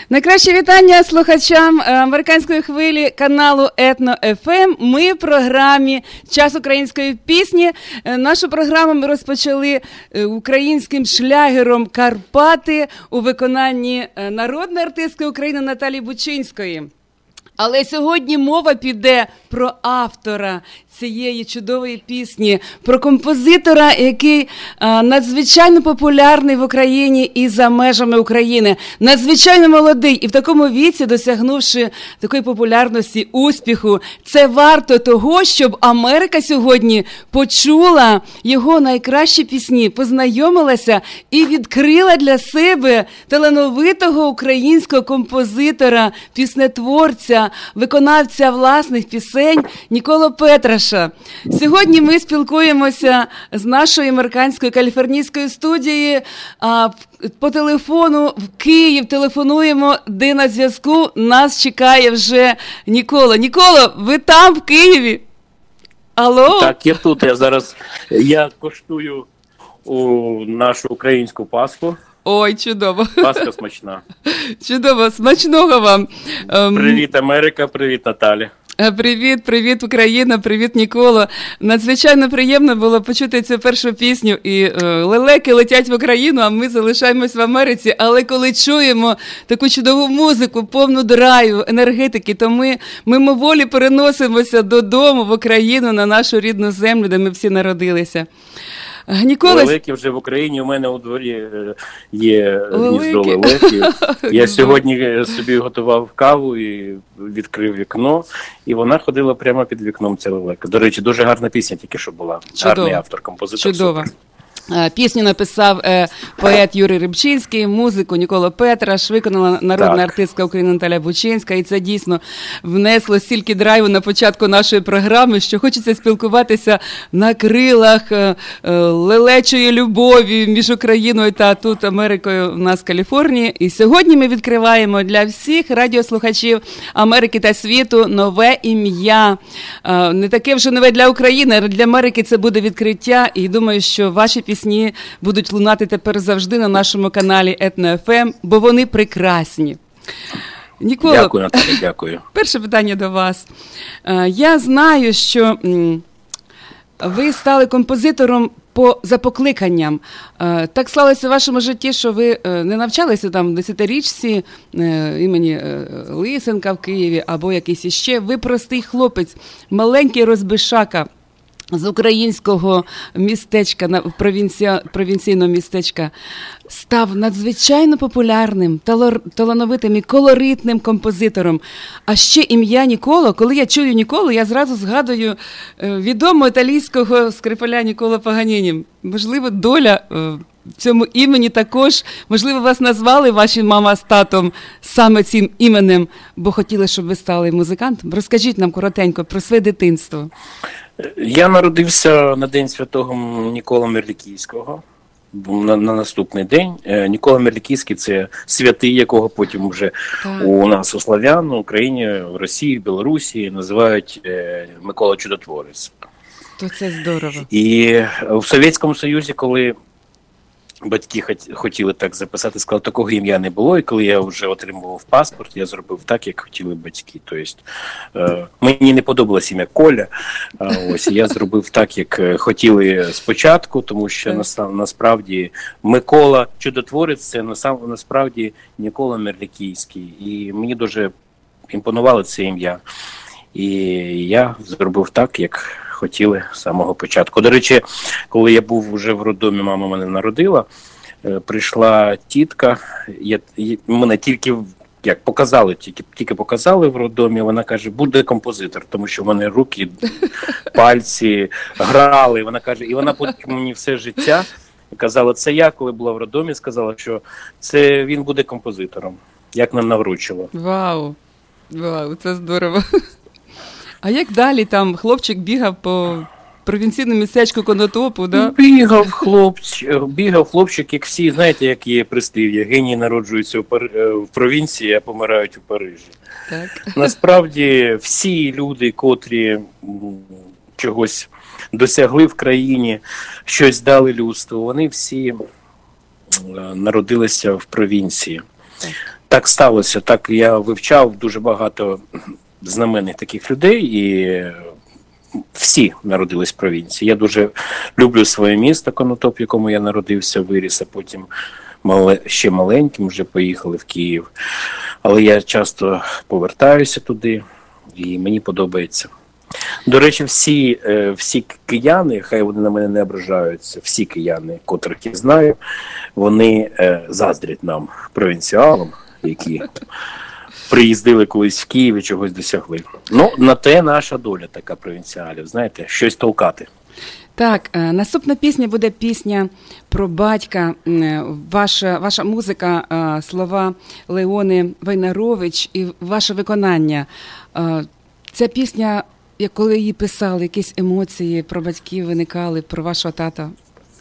Найкраще вітання слухачам американської хвилі каналу Етно ФМ. Ми в програмі «Час української пісні». Нашу програму ми розпочали українським шлягером «Карпати» у виконанні народної артистки України Наталії Бучинської. Але сьогодні мова піде про автора цієї чудової пісні, про композитора, який надзвичайно популярний в Україні і за межами України. Надзвичайно молодий і в такому віці, досягнувши такої популярності, успіху. Це варто того, щоб Америка сьогодні почула його найкращі пісні, познайомилася і відкрила для себе талановитого українського композитора, піснетворця, виконавця власних пісень Ніколу Петраша. Сьогодні ми спілкуємося з нашої американської каліфорнійської студії по телефону в Київ. Телефонуємо, де на зв'язку нас чекає вже Нікола. Ніколо, ви там, в Києві? Алло? Так, я тут. Я коштую нашу українську паску. Ой, чудово. Паска смачна. Чудово, смачного вам. Привіт, Америка, привіт, Наталя. Привіт, Україна, привіт, Ніколо. Надзвичайно приємно було почути цю першу пісню. І лелеки летять в Україну, а ми залишаємось в Америці. Але коли чуємо таку чудову музику, повну драйву, енергетики, то ми мимоволі переносимося додому, в Україну, на нашу рідну землю, де ми всі народилися. Лелеки вже в Україні, у мене у дворі є гніздо лелеків. Я сьогодні собі готував каву і відкрив вікно, і вона ходила прямо під вікном, ця лелека. До речі, дуже гарна пісня тільки що була. Чудово. Гарний автор, композитор. Чудово. Пісню написав поет Юрій Рибчинський, музику Нікола Петраш, виконала народна артистка України Наталія Бучинська, і це дійсно внесло стільки драйву на початку нашої програми, що хочеться спілкуватися на крилах лелечої любові між Україною та тут Америкою в нас в Каліфорнії. І сьогодні ми відкриваємо для всіх радіослухачів Америки та світу нове ім'я. Не таке вже нове для України, а для Америки це буде відкриття, і думаю, що ваші пісні будуть лунати тепер завжди на нашому каналі Етно ФМ, бо вони прекрасні. Ніколо, дякую, Наталя, дякую. Перше питання до вас. Я знаю, що ви стали композитором за покликанням. Так склалося в вашому житті, що ви не навчалися там в 10-річці імені Лисенка в Києві або якийсь іще. Ви простий хлопець, маленький розбишака, з українського містечка, провінційного містечка, став надзвичайно популярним, талановитим і колоритним композитором. А ще ім'я Ніколо. Коли я чую Ніколо, я зразу згадую відомого італійського скрипаля Ніколо Паганіні. Можливо, доля в цьому імені також, можливо, вас назвали ваші мама з татом саме цим іменем, бо хотіли, щоб ви стали музикантом. Розкажіть нам коротенько про своє дитинство. Я народився на День Святого Ніколи Мерлікійського, на наступний день. Нікола Мерлікійський – це святий, якого потім вже у нас у славян, у Україні, в Росії, в Білорусі називають Микола Чудотворець. То це здорово. І в Совєтському Союзі, коли батьки хотіли так записати, сказали, такого ім'я не було, і коли я вже отримував паспорт, я зробив так, як хотіли батьки. Тобто, мені не подобалось ім'я Коля, ось, я зробив так, як хотіли спочатку, тому що насправді Микола Чудотворець – це насправді Нікола Мерлікійський, і мені дуже імпонувало це ім'я. І я зробив так, як хотіли з самого початку. До речі, коли я був вже в роддомі, мама мене народила, прийшла тітка, мене тільки показали в роддомі, вона каже, буде композитор, тому що в мене руки, пальці грали, вона каже, і вона потім мені все життя казала, це я, коли була в роддомі, сказала, що це він буде композитором, як нам навручило. Вау, це здорово. А як далі там хлопчик бігав по провінційному містечку Конотопу, да? Бігав хлопчик, як всі, знаєте, як є прислів'я, генії народжуються в провінції, а помирають у Парижі. Так. Насправді всі люди, котрі чогось досягли в країні, щось дали людству, вони всі народилися в провінції. Так сталося. Так я вивчав дуже багато знаменних таких людей, і всі народились в провінції. Я дуже люблю своє місто Конотоп, в якому я народився, виріс, а потім ще маленьким вже поїхали в Київ. Але я часто повертаюся туди, і мені подобається. До речі, всі кияни, хай вони на мене не ображаються, всі кияни, котрих я знаю, вони заздрять нам, провінціалам, які приїздили колись в Київ і чогось досягли. Ну, на те наша доля така провінціалів, знаєте, щось толкати. Так, наступна пісня буде пісня про батька, ваша музика, слова Леони Войнарович і ваше виконання. Ця пісня, коли її писали, якісь емоції про батьків виникали, про вашого тата?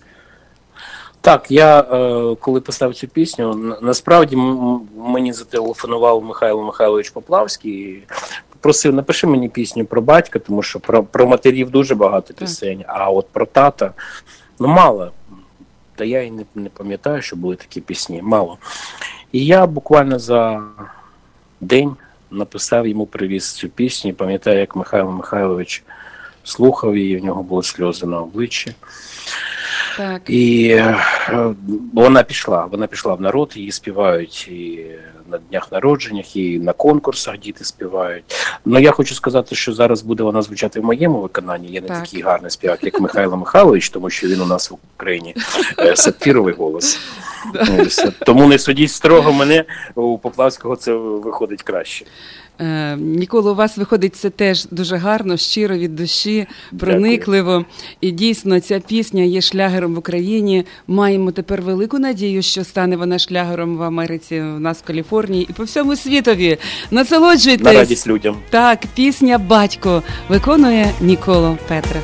Так, я коли писав цю пісню, насправді мені зателефонував Михайло Михайлович Поплавський і просив, напиши мені пісню про батька, тому що про матерів дуже багато пісень, а от про тата, мало. Та я і не пам'ятаю, що були такі пісні, мало. І я буквально за день написав йому, привіз цю пісню, пам'ятаю, як Михайло Михайлович слухав її, в нього були сльози на обличчі. Так. І вона пішла в народ, її співають і на днях народженнях, і на конкурсах діти співають. Ну, я хочу сказати, що зараз буде вона звучати в моєму виконанні. Я не такий гарний співак, як Михайло Михайлович, тому що він у нас в Україні сапфіровий голос. Тому не судіть строго мене, у Поплавського це виходить краще. Нікола, у вас виходить це теж дуже гарно, щиро, від душі, проникливо. Дякую. І дійсно ця пісня є шлягером в Україні. Маємо тепер велику надію, що стане вона шлягером в Америці, у нас в Каліфорнії і по всьому світові. Насолоджуйтесь. На радість людям. Так, пісня «Батько» виконує Ніколо Петраш.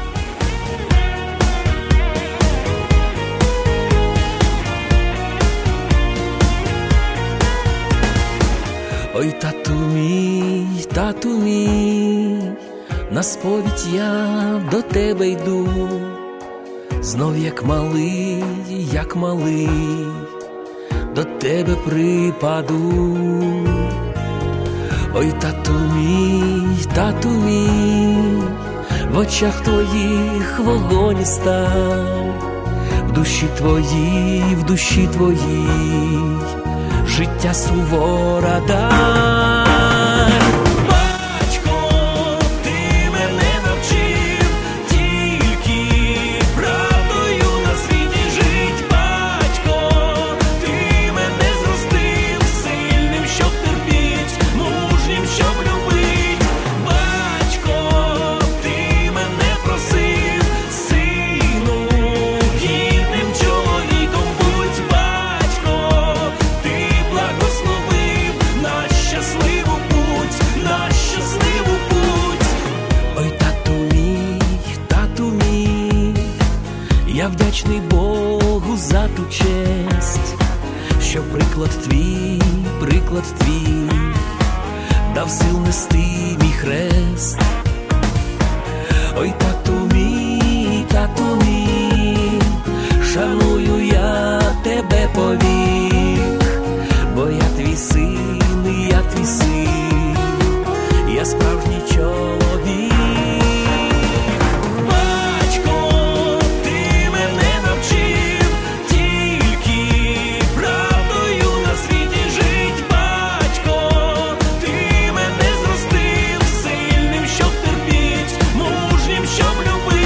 Ой, тату мій, на сповідь я до тебе йду, знов як малий, до тебе припаду. Ой, тату мій, в очах твоїх вогонь став, в душі твоїй, життя сувора дай. Батько, ти мене навчив тільки правдою на світі жить. Батько, ти мене зростив сильним, щоб терпіть, мужнім, щоб любить. Батько, ти мене просив, сину, гідним чоловіком будь. Батько, благословив на щасливу путь. Ой, тату мій, я вдячний Богу за ту честь, що приклад твій дав сил нести мій хрест. Ой, тату мій, шаную я тебе повік, бо я твій син, я справжній чоловік. Батько, ти мене навчив тільки правдою на світі жить. Батько, ти мене зростив сильним, щоб терпіть, мужнім, щоб любить.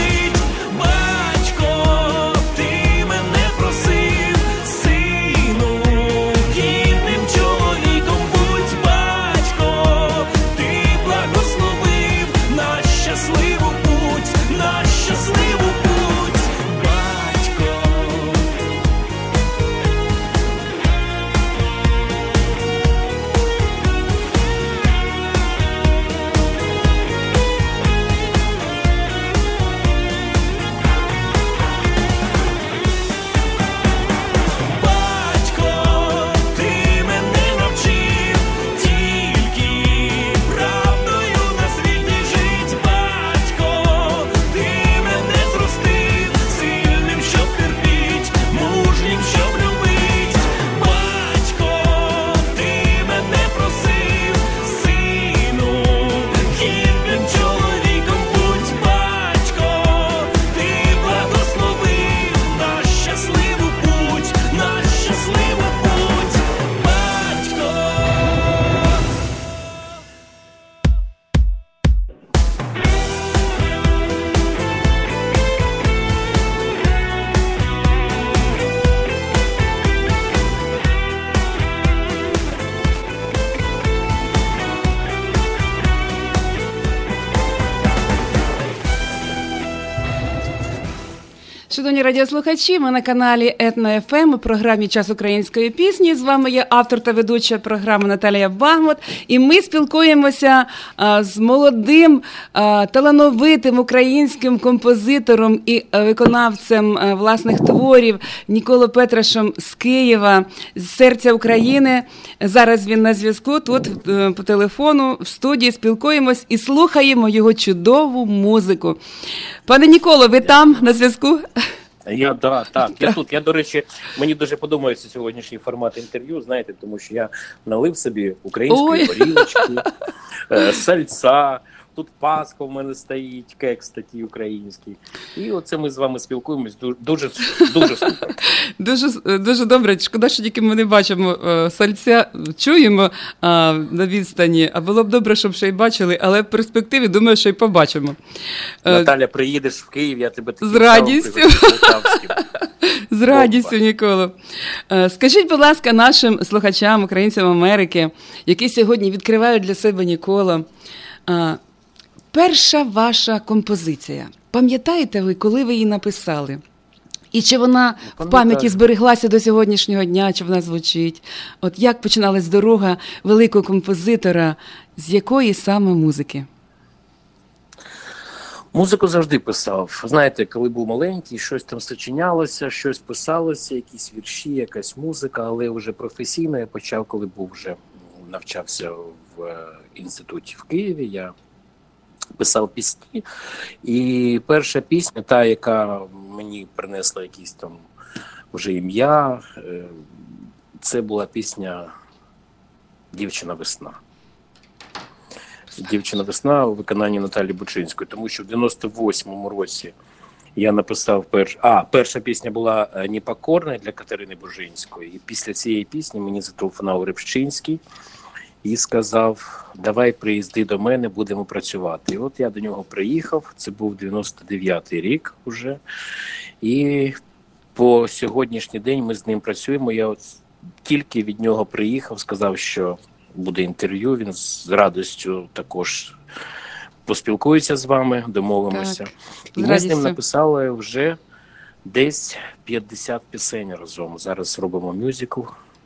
Шановні радіослухачі, ми на каналі Етно ФМ у програмі «Час української пісні». З вами є автор та ведуча програми Наталія Багмот. І ми спілкуємося з молодим, талановитим українським композитором і виконавцем власних творів Ніколою Петрашем з Києва, з серця України. Зараз він на зв'язку, тут по телефону, в студії спілкуємось і слухаємо його чудову музику. Пане Ніколо, ви там на зв'язку? Я тут. Я, до речі, мені дуже подобається сьогоднішній формат інтерв'ю, знаєте, тому що я налив собі української горілочки, сальця, тут Пасха в мене стоїть, кекс такий український. І оце ми з вами спілкуємось дуже супер. Дуже добре. Шкода, що тільки ми не бачимо сальця, чуємо на відстані, а було б добре, щоб ще й бачили, але в перспективі, думаю, що й побачимо. Наталя, приїдеш в Київ, я тебе з радістю. З радістю, Ніколо. Скажіть, будь ласка, нашим слухачам, українцям Америки, які сьогодні відкривають для себе Ніколо, перша ваша композиція. Пам'ятаєте ви, коли ви її написали? І чи вона в пам'яті збереглася до сьогоднішнього дня, чи вона звучить? От як починалась дорога великого композитора, з якої саме музики? Музику завжди писав. Знаєте, коли був маленький, щось там сочинялося, щось писалося, якісь вірші, якась музика, але вже професійно я почав, коли навчався в інституті в Києві, я писав пісні. І перша пісня, та, яка мені принесла якісь там вже ім'я, це була пісня «Дівчина весна». «Дівчина весна» у виконанні Наталі Бучинської, тому що в 98-му році я написав перша пісня була «Непокорна» для Катерини Бужинської. І після цієї пісні мені зателефонував Рибчинський і сказав: давай приїзди до мене, будемо працювати. І от я до нього приїхав, це був 99-й рік уже. І по сьогоднішній день ми з ним працюємо. Я от тільки від нього приїхав, сказав, що буде інтерв'ю, він з радістю також поспілкується з вами, домовимося. Так, і ми з ним написали вже десь 50 пісень разом. Зараз робимо мюзикл.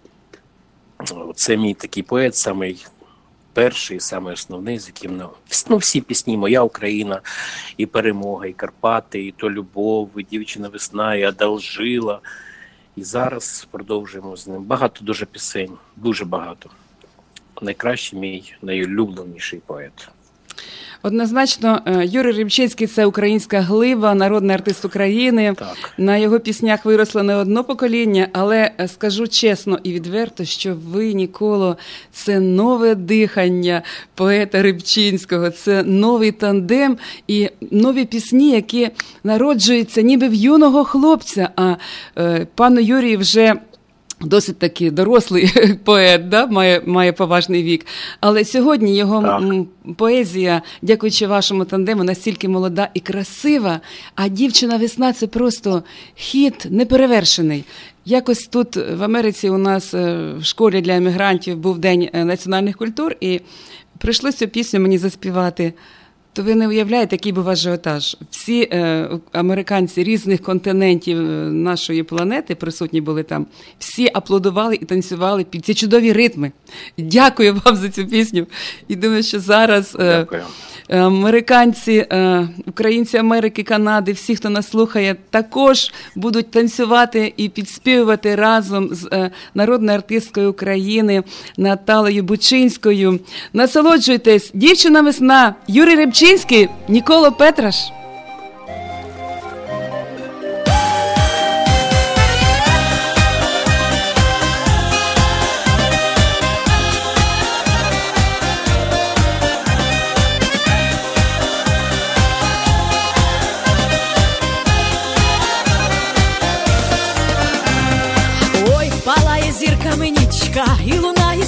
Це мій такий поет, самий перший, самий основний, з яким всі пісні «Моя Україна», і «Перемога», і «Карпати», і «То любов», і «Дівчина весна», і «Одолжила». І зараз продовжуємо з ним. Багато дуже пісень, дуже багато. Найкращий мій, найулюбленіший поет. Однозначно, Юрій Рибчинський – це українська глиба, народний артист України. Так. На його піснях виросло не одно покоління, але скажу чесно і відверто, що ви, Ніколо, це нове дихання поета Рибчинського, це новий тандем і нові пісні, які народжуються ніби в юного хлопця, а пану Юрію вже досить таки дорослий поет, да? має поважний вік. Але сьогодні його поезія, дякуючи вашому тандему, настільки молода і красива, а «Дівчина весна» – це просто хіт неперевершений. Якось тут в Америці у нас в школі для емігрантів був День національних культур, і прийшлося цю пісню мені заспівати. То ви не уявляєте, який був ажіотаж. Всі американці різних континентів нашої планети присутні були там. Всі аплодували і танцювали під ці чудові ритми. Дякую вам за цю пісню. І думаю, що зараз американці, українці Америки, Канади, всі, хто нас слухає, також будуть танцювати і підспівувати разом з народною артисткою України Наталею Бучинською. Насолоджуйтесь. «Дівчина весна», Юрій Рибчинський, Ніколо Петраш. Зірками нічка, і лунає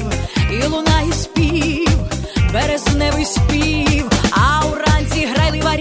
спів, березневий спів, а уранці грайлива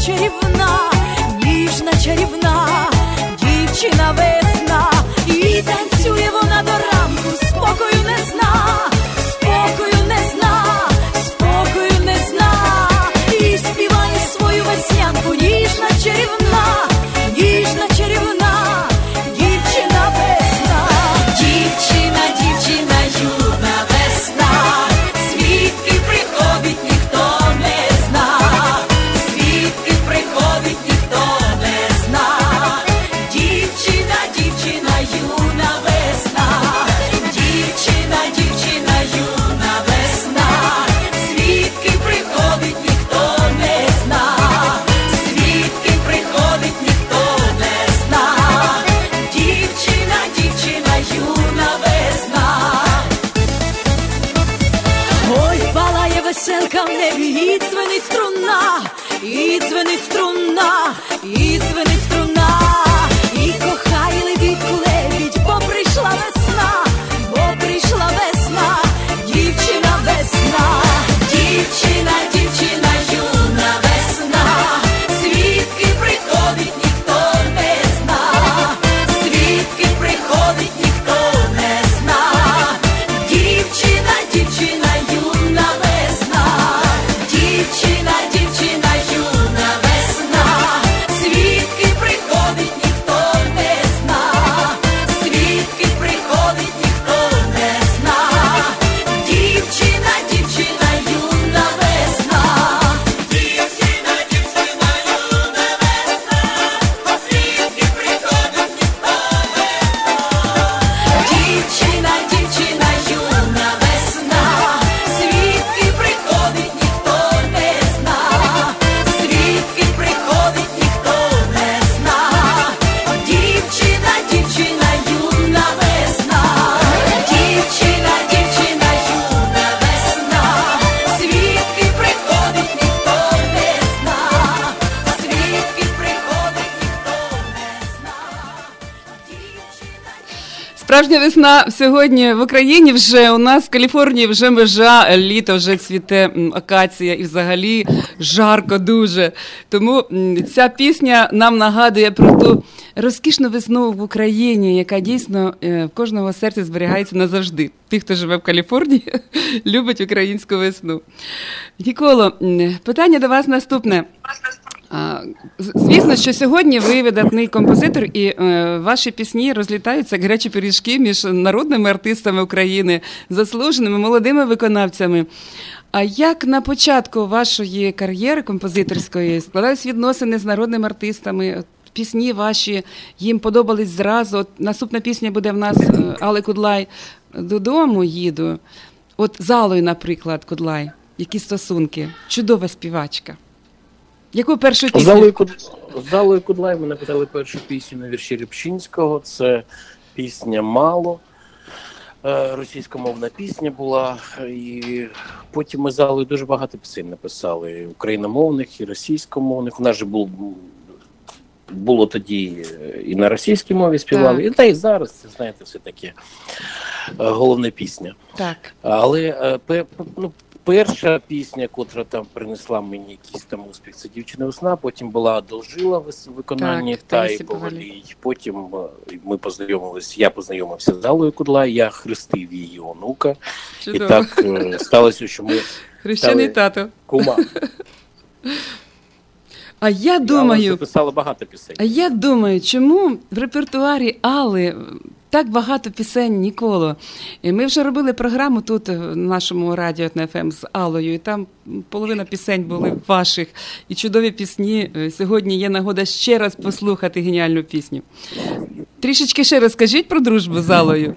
чарівна, ніжна чарівна, дівчина весна. І танцює вона до ранку, спокою не зна, спокою не зна, спокою не зна. І співає свою веснянку, ніжна чарівна, ніжна чарівна, дівчина весна. Дівчина, дівчина, юна весна, звідки приходить ніхто не зна, звідки приходить ніхто не зна. Дівчина, дівчина, юна весна, дівчина, дівчина, юна весна, звідки приходить ніхто не зна, звідки приходить ніхто не зна. Дівчина, дівчина, юна весна. Ой, палає веселка в небі, і дзвенить струна, і дзвенить струна, і дзвенить струна. І кохає лебідку лебідь, бо прийшла весна, бо прийшла весна, дівчина весна. Дівчина, дівчина, юна весна, звідки приходить ніхто не зна, звідки приходить ніхто не зна. Дівчина, дівчина, юна весна, дівчина, дівчина, юна весна, звідки приходить ніхто не зна, звідки приходить ніхто не зна. Дівчина, дівчина, юна весна. Дівчина, дівчина, юна весна, звідки приходить ніхто не зна. Дівчина, дівчина, юна весна, звідки приходить ніхто не зна, звідки приходить ніхто не зна. Дівчина, дівчина, юна весна, дівчина, дівчина, юна весна, звідки приходить ніхто не зна, звідки приходить ніхто не зна. Справжня весна сьогодні в Україні вже, у нас в Каліфорнії вже межа, літо, вже цвіте акація і взагалі жарко дуже. Тому ця пісня нам нагадує про ту розкішну весну в Україні, яка дійсно в кожного серці зберігається назавжди. Ті, хто живе в Каліфорнії, любить українську весну. Ніколо, питання до вас наступне. Звісно, що сьогодні ви видатний композитор, і ваші пісні розлітаються як гарячі пиріжки між народними артистами України, заслуженими молодими виконавцями. А як на початку вашої кар'єри композиторської складались відносини з народними артистами? Пісні ваші їм подобались зразу. От наступна пісня буде в нас Алли Кудлай «Додому їду». От з Аллою, наприклад, Кудлай. Які стосунки? Чудова співачка. Яку першу пісню? З Аллою Кудлай ми написали першу пісню на вірші Рябчинського. Це пісня «Мало». Російськомовна пісня була. І потім ми з Аллою дуже багато пісень написали. Україномовних і російськомовних. У нас же було тоді і на російській мові співали. Та і зараз, це, знаєте, все-таки головна пісня. Так. Але перша пісня, котра там принесла мені якийсь там успіх, це «Дівчина весна», потім була «Одолжила» в виконанні Таї Повалій. Потім я познайомився з Аллою Кудлай, я хрестив її онука. Чудово. І так сталося, що ми хрещений тато. Кума. А я думаю, записала багато пісень. А я думаю, чому в репертуарі Алли так багато пісень Ніколо? І ми вже робили програму тут, в нашому радіо ФМ з Аллою, і там половина пісень були ваших. І чудові пісні. Сьогодні є нагода ще раз послухати геніальну пісню. Трішечки ще розкажіть про дружбу з Аллою.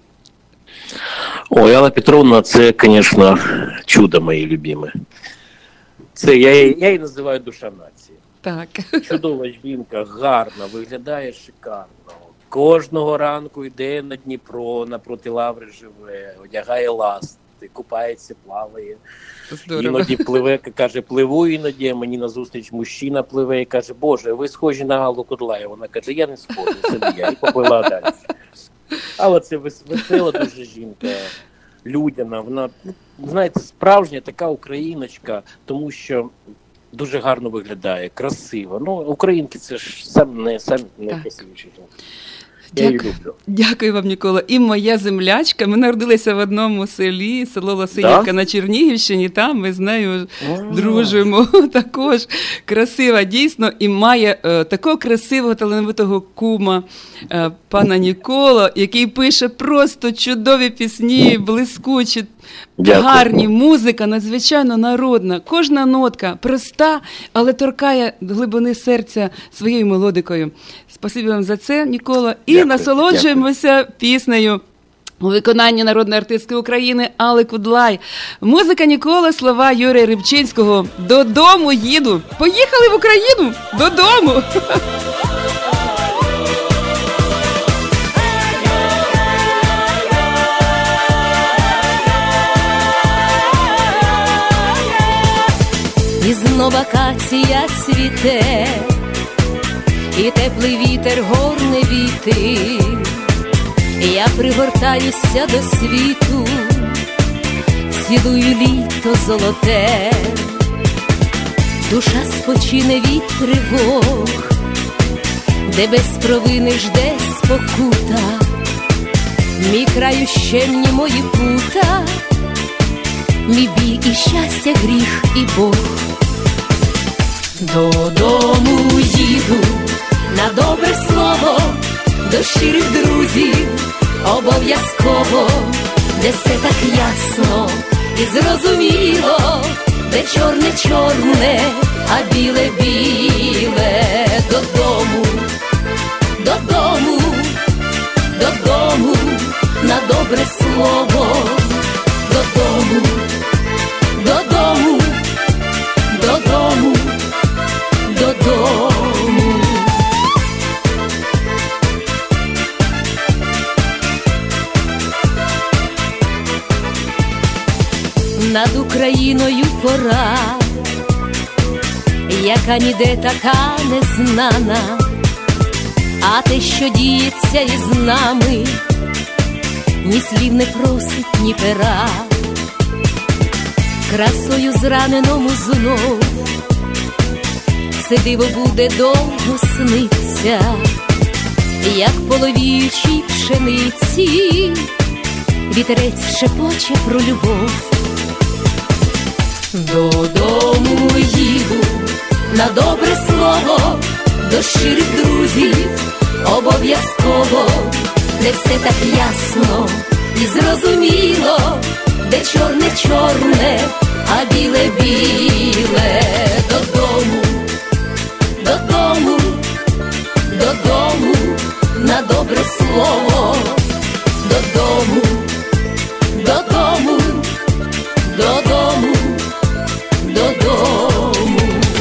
Ой, Алла Петровна, це, звісно, чудо моє любиме. Це я її називаю душа нації. Так. Чудова жінка, гарна, виглядає шикарно. Кожного ранку йде на Дніпро, напроти Лаври живе, одягає ласти, купається, плаває. Здорово. Іноді пливе, каже, пливу іноді, а мені назустріч мужчина пливе і каже, Боже, ви схожі на Аллу Кудлай. Вона каже, я не схожа, це не я. І поплила далі. Але це весела дуже жінка, людяна. Вона, знаєте, справжня така україночка, тому що дуже гарно виглядає, красиво. Ну, українки це ж самі найкрасивіші. Я її люблю. Дякую вам, Нікола. І моя землячка. Ми народилися в одному селі, село Лосинівка на Чернігівщині. Там ми з нею дружимо. Також красива, дійсно. І має такого красивого, талановитого кума, пана Нікола, який пише просто чудові пісні, блискучі, гарні, музика надзвичайно народна. Кожна нотка проста, але торкає глибини серця своєю мелодикою. Спасибі вам за це, Нікола. І насолоджуємося піснею у виконанні народної артистки України Алли Кудлай. Музика Ніколи, слова Юрія Рибчинського. Додому їду. Поїхали в Україну! Додому! І знов акація цвіте, і теплий вітер горне віти. Я пригортаюся до світу, цілую літо золоте. Душа спочине від тривог, де без провини жде спокута. Мій краю щемні мої пута, мій біль і щастя, гріх і Бог. Додому їду на добре слово, до щирих друзів обов'язково, де все так ясно і зрозуміло, де чорне-чорне, а біле-біле. Додому, додому, додому, на добре слово. Додому, додому, додому, додому. Над Україною пора, яка ніде така незнана, а те, що діється із нами, ні слів не просить, ні пера. Красою зраненому знов це диво буде довго сниться, як половіючій пшениці вітерець шепоче про любов. Додому їду на добре слово, до щирих друзів обов'язково, де все так ясно і зрозуміло, де чорне-чорне, а біле-біле. Додому, додому, додому, на добре слово. Додому, додому, додому, додому.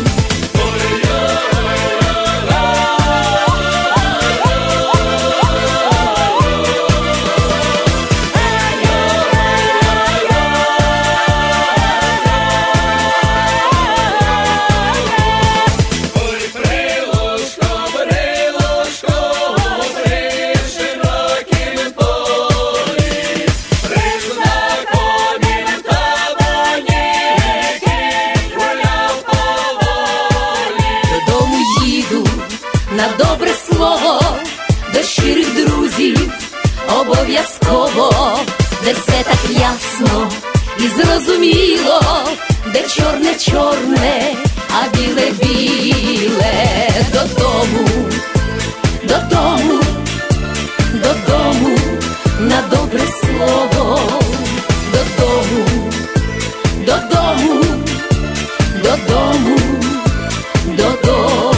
Обов'язково, де все так ясно і зрозуміло, де чорне-чорне, а біле-біле. Додому, додому, додому, на добре слово. Додому, додому, додому, додому.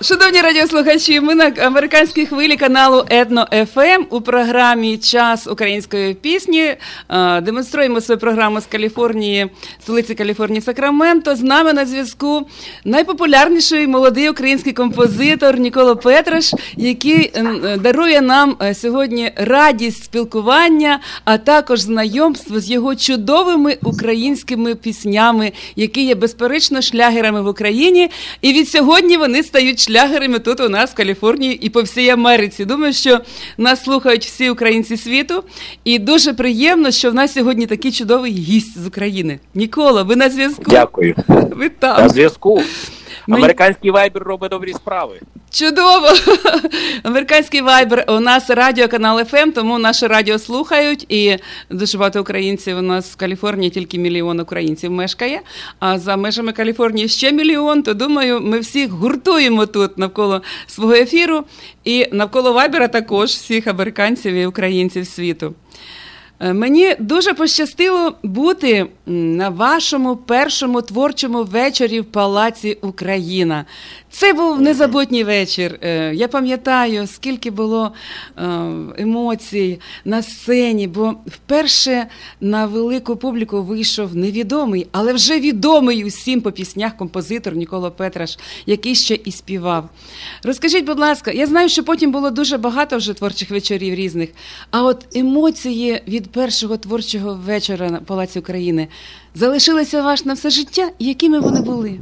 Шановні радіослухачі, ми на американській хвилі каналу Етно ФМ у програмі «Час української пісні». Демонструємо свою програму з Каліфорнії, столиці Каліфорнії Сакраменто. З нами на зв'язку найпопулярніший молодий український композитор Ніколо Петраш, який дарує нам сьогодні радість спілкування, а також знайомство з його чудовими українськими піснями, які є безперечно шлягерами в Україні. І від сьогодні вони стають шлягерами тут у нас в Каліфорнії і по всій Америці. Думаю, що нас слухають всі українці світу. І дуже приємно, що в нас сьогодні такий чудовий гість з України. Нікола, ви на зв'язку? Дякую. Ви там. На зв'язку. Американський вайбер робить добрі справи. Чудово! Американський вайбер. У нас радіо канал ФМ, тому наше радіо слухають. І дуже багато українців у нас в Каліфорнії, тільки 1 мільйон українців мешкає. А за межами Каліфорнії ще 1 мільйон, то, думаю, ми всіх гуртуємо тут навколо свого ефіру. І навколо вайбера також всіх американців і українців світу. Мені дуже пощастило бути на вашому першому творчому вечорі в Палаці Україна. Це був незабутній вечір. Я пам'ятаю, скільки було емоцій на сцені, бо вперше на велику публіку вийшов невідомий, але вже відомий усім по піснях композитор Ніколо Петраш, який ще і співав. Розкажіть, будь ласка, я знаю, що потім було дуже багато вже творчих вечорів різних, а от емоції від першого творчого вечора на Палаці України залишилися ваш на все життя? І якими вони були?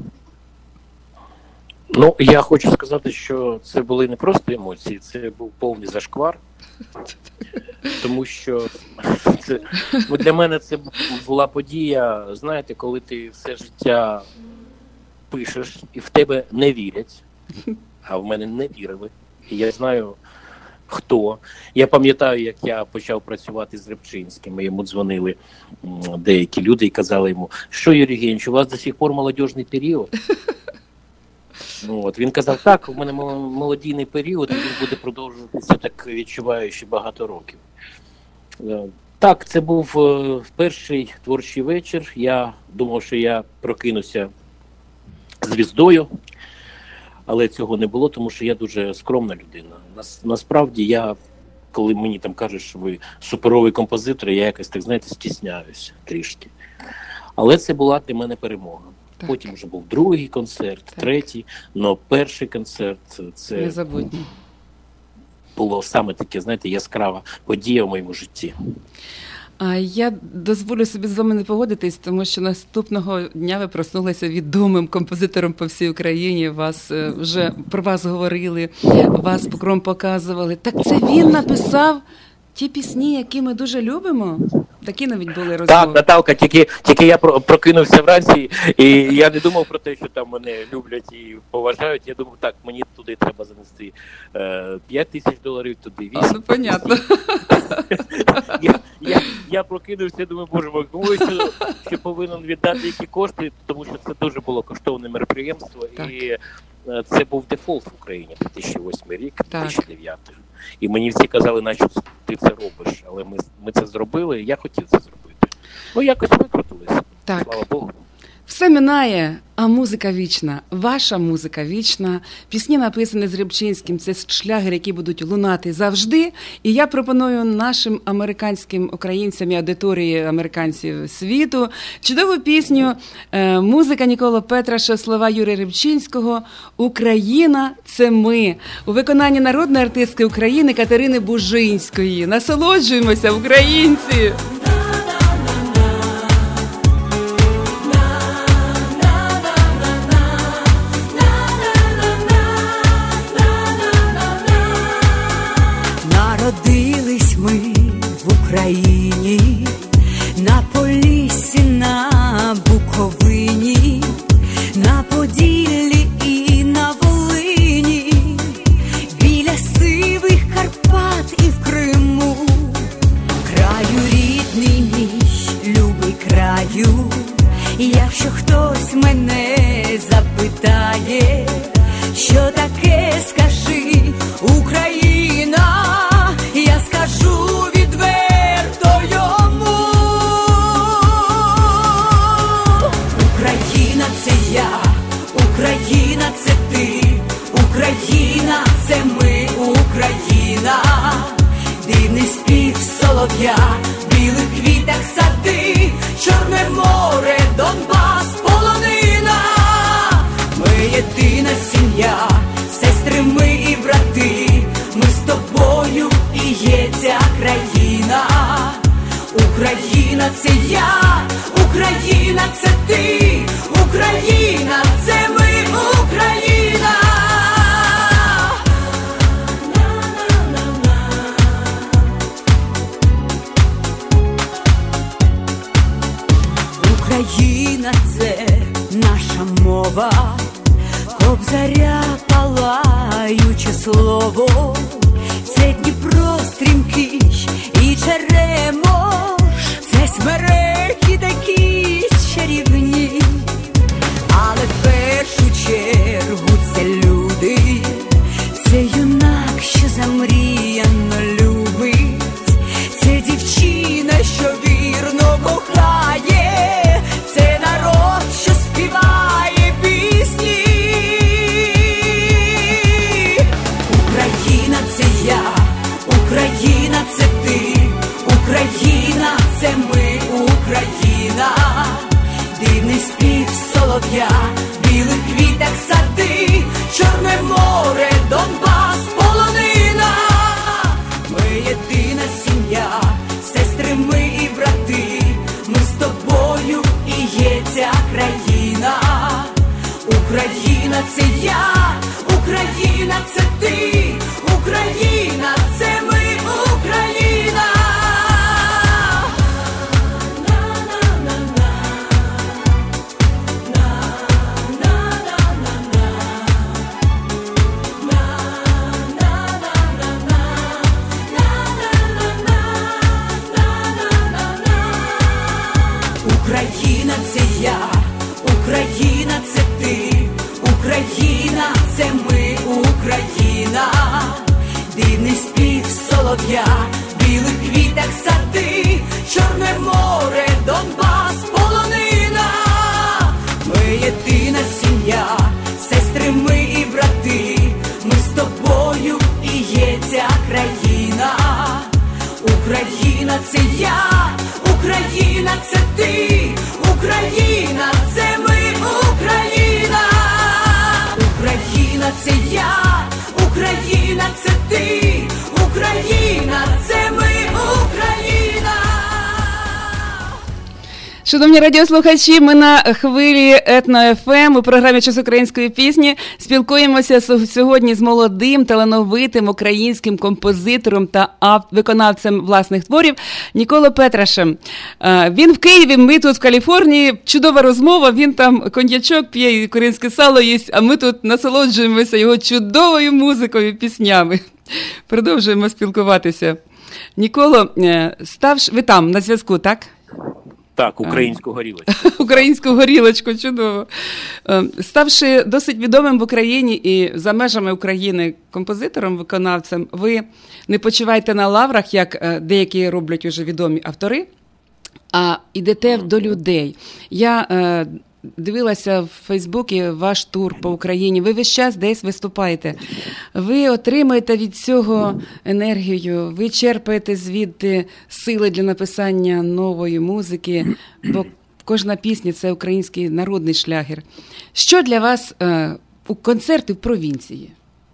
Ну, я хочу сказати, що це були не просто емоції, це був повний зашквар. Тому що для мене це була подія, знаєте, коли ти все життя пишеш і в тебе не вірять, а в мене не вірили. І я знаю, хто. Я пам'ятаю, як я почав працювати з Рибчинським, і йому дзвонили деякі люди і казали йому, що, Юрій Євгенович, у вас до сих пор молодіжний період? Він казав, так, у мене молодійний період, і він буде продовжуватися, так відчуваю, ще багато років. Так, це був перший творчий вечір. Я думав, що я прокинуся звіздою, але цього не було, тому що я дуже скромна людина. Насправді я, коли мені там кажуть, що ви суперовий композитор, я якось, так знаєте, стісняюся трішки. Але це була для мене перемога. Так. Потім вже був другий концерт, так. Третій, але перший концерт це незабутній. Було саме таке, знаєте, яскрава подія в моєму житті. Я дозволю собі з вами не погодитись, тому що наступного дня ви проснулися відомим композитором по всій Україні, вже про вас говорили, вас покром показували. Так це він написав ті пісні, які ми дуже любимо? Такі навіть були розмови. Так, Наталка, тільки я прокинувся вранці, і я не думав про те, що там мене люблять і поважають. Я думав, так, мені туди треба занести $5,000, туди 8. Ну, понятно. Я прокинувся, думаю, боже мой, кому ще повинен віддати які кошти, тому що це дуже було коштовне мероприємство. Так. І це був дефолт в Україні, 2008 рік, 2009. І мені всі казали, наче ти це робиш, але ми це зробили, і я хотів це зробити. Якось викрутилися, слава Богу. Все минає, а музика вічна. Ваша музика вічна. Пісні написані з Рибчинським. Це шлягери, які будуть лунати завжди. І я пропоную нашим американським українцям і аудиторії американців світу чудову пісню. Музика Ніколо Петраша, слова Юрія Рибчинського. «Україна – це ми». У виконанні народної артистки України Катерини Бужинської. Насолоджуємося, українці! Народились ми в Україні, на Поліссі, на Буковині, на Поділлі і на Волині, біля сивих Карпат і в Криму, краю рідного. Україна це я, Україна це ти, Україна це ми, Україна. Україна це наша мова, Кобзаря палаюче слово, це Дніпро стрімкий і Черемош, це смереки такі чарівні, але в першу чергу це люди, це юнак, що замріяно любить, це дівчина, що вірно кохає, це народ, що співає пісні. Україна це я, Україна це ти, Україна це ми, Україна. Дивний спів солов'я, білих квітах сади, Чорне море, Донбас, полонина. Ми єдина сім'я, сестри ми і брати, ми з тобою і є ця країна. Україна це я, Україна це ти, Україна це ми, Україна. Україна це я, Україна це ти, Україна це ми, Україна. Дивний спів солов'я, білих квітах сади, Чорне море, Донбас, полонина. Ми єдина сім'я, сестри ми і брати, ми з тобою і є ця країна. Україна це я, Україна це ти, Україна це ми, Україна. Україна це я, Україна це ти, Україна це ми, Україна. Шановні радіослухачі, ми на хвилі Етно ФМ у програмі «Час української пісні» спілкуємося сьогодні з молодим, талановитим українським композитором та виконавцем власних творів Ніколо Петрашем. Він в Києві, ми тут в Каліфорнії. Чудова розмова, він там коньячок п'є і українське сало їсть, а ми тут насолоджуємося його чудовою музикою, піснями. Продовжуємо спілкуватися. Ніколо, ви там на зв'язку, так? Так, українську горілочку. Українську горілочку, чудово. Ставши досить відомим в Україні і за межами України композитором, виконавцем, ви не почиваєте на лаврах, як деякі роблять уже відомі автори, а йдете до людей. Я дивилася в Фейсбуці ваш тур по Україні, ви весь час десь виступаєте. Ви отримуєте від цього енергію, ви черпаєте звідти сили для написання нової музики, бо кожна пісня – це український народний шлягер. Що для вас у концерти в провінції?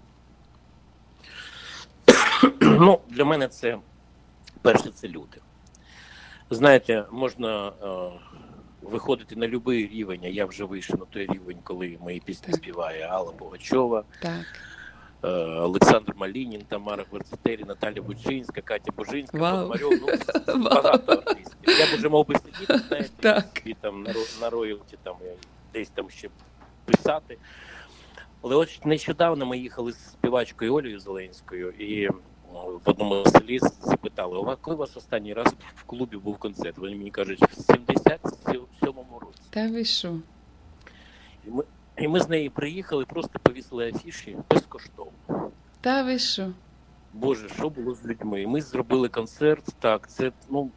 Ну, для мене це, перше, це люди. Знаєте, можна виходити на будь-який рівень, а я вже вийшов на той рівень, коли мої пісні співає Алла Пугачова, Олександр Малінін, Тамара Гварцетері, Наталя Бучинська, Катя Бужинська, Пономарьов, багато артистів. Я б вже мав би сидіти, знаєте, і там на роялті, там, десь там ще писати. Але от нещодавно ми їхали з співачкою Олею Зеленською, і в одному селі запитали, коли у вас останній раз в клубі був концерт? Вони мені кажуть, в 77-му році. Та ви що? І ми з нею приїхали, просто повісили афіші безкоштовно. Та ви що? Боже, що було з людьми? Ми зробили концерт, так, це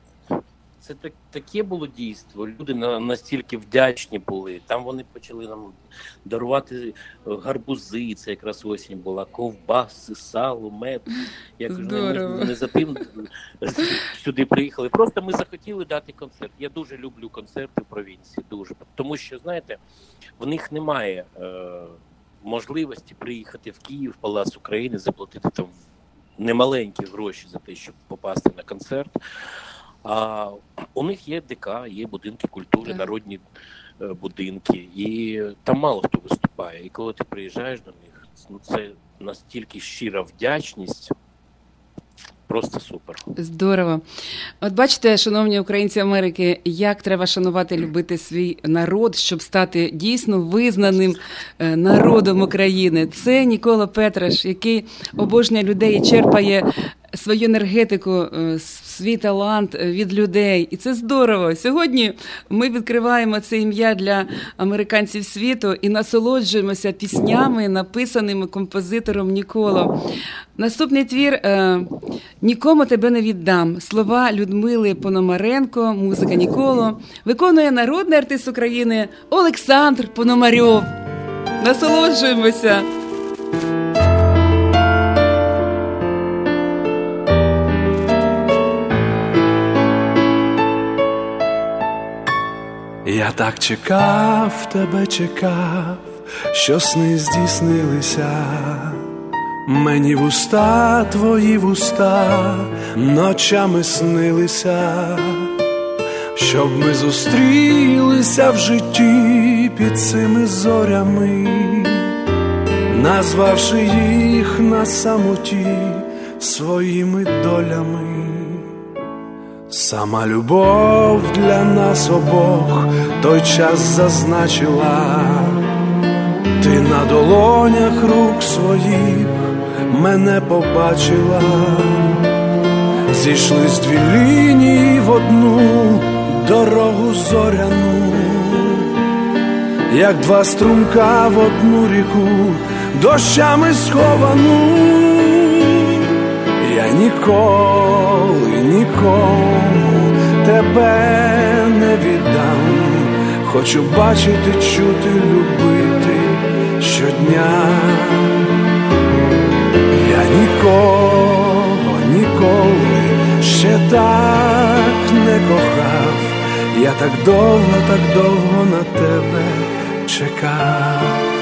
таке було дійство. Люди настільки вдячні були. Там вони почали нам дарувати гарбузи, це якраз осінь була, ковбаси, сало, мед. Я кажу, не за тим сюди приїхали. Просто ми захотіли дати концерт. Я дуже люблю концерти в провінції, дуже. Тому що, знаєте, в них немає можливості приїхати в Київ, в Палац України, заплатити там немаленькі гроші за те, щоб попасти на концерт. А у них є ДК, є будинки культури, народні будинки, і там мало хто виступає. І коли ти приїжджаєш до них, ну це настільки щира вдячність. Просто супер. Здорово. От бачите, шановні українці Америки, як треба шанувати, любити свій народ, щоб стати дійсно визнаним народом України. Це Нікола Петраш, який обожнює людей і черпає свою енергетику, свій талант від людей. І це здорово. Сьогодні ми відкриваємо це ім'я для американців світу і насолоджуємося піснями, написаними композитором Ніколо. Наступний твір «Нікому тебе не віддам». Слова Людмили Пономаренко, музика Ніколо. Виконує народний артист України Олександр Пономарьов. Насолоджуємося. Я так чекав, тебе чекав, що сни здійснилися. Мені вуста, твої вуста ночами снилися, щоб ми зустрілися в житті під цими зорями, назвавши їх на самоті своїми долями. Сама любов для нас обох той час зазначила. Ти на долонях рук своїх мене побачила. Зійшлись дві лінії в одну дорогу зоряну, як два струмка в одну ріку, дощами сховану. Я ніколи нікому тебе не віддам. Хочу бачити, чути, любити щодня. Я нікого ніколи ще так не кохав. Я так довго на тебе чекав.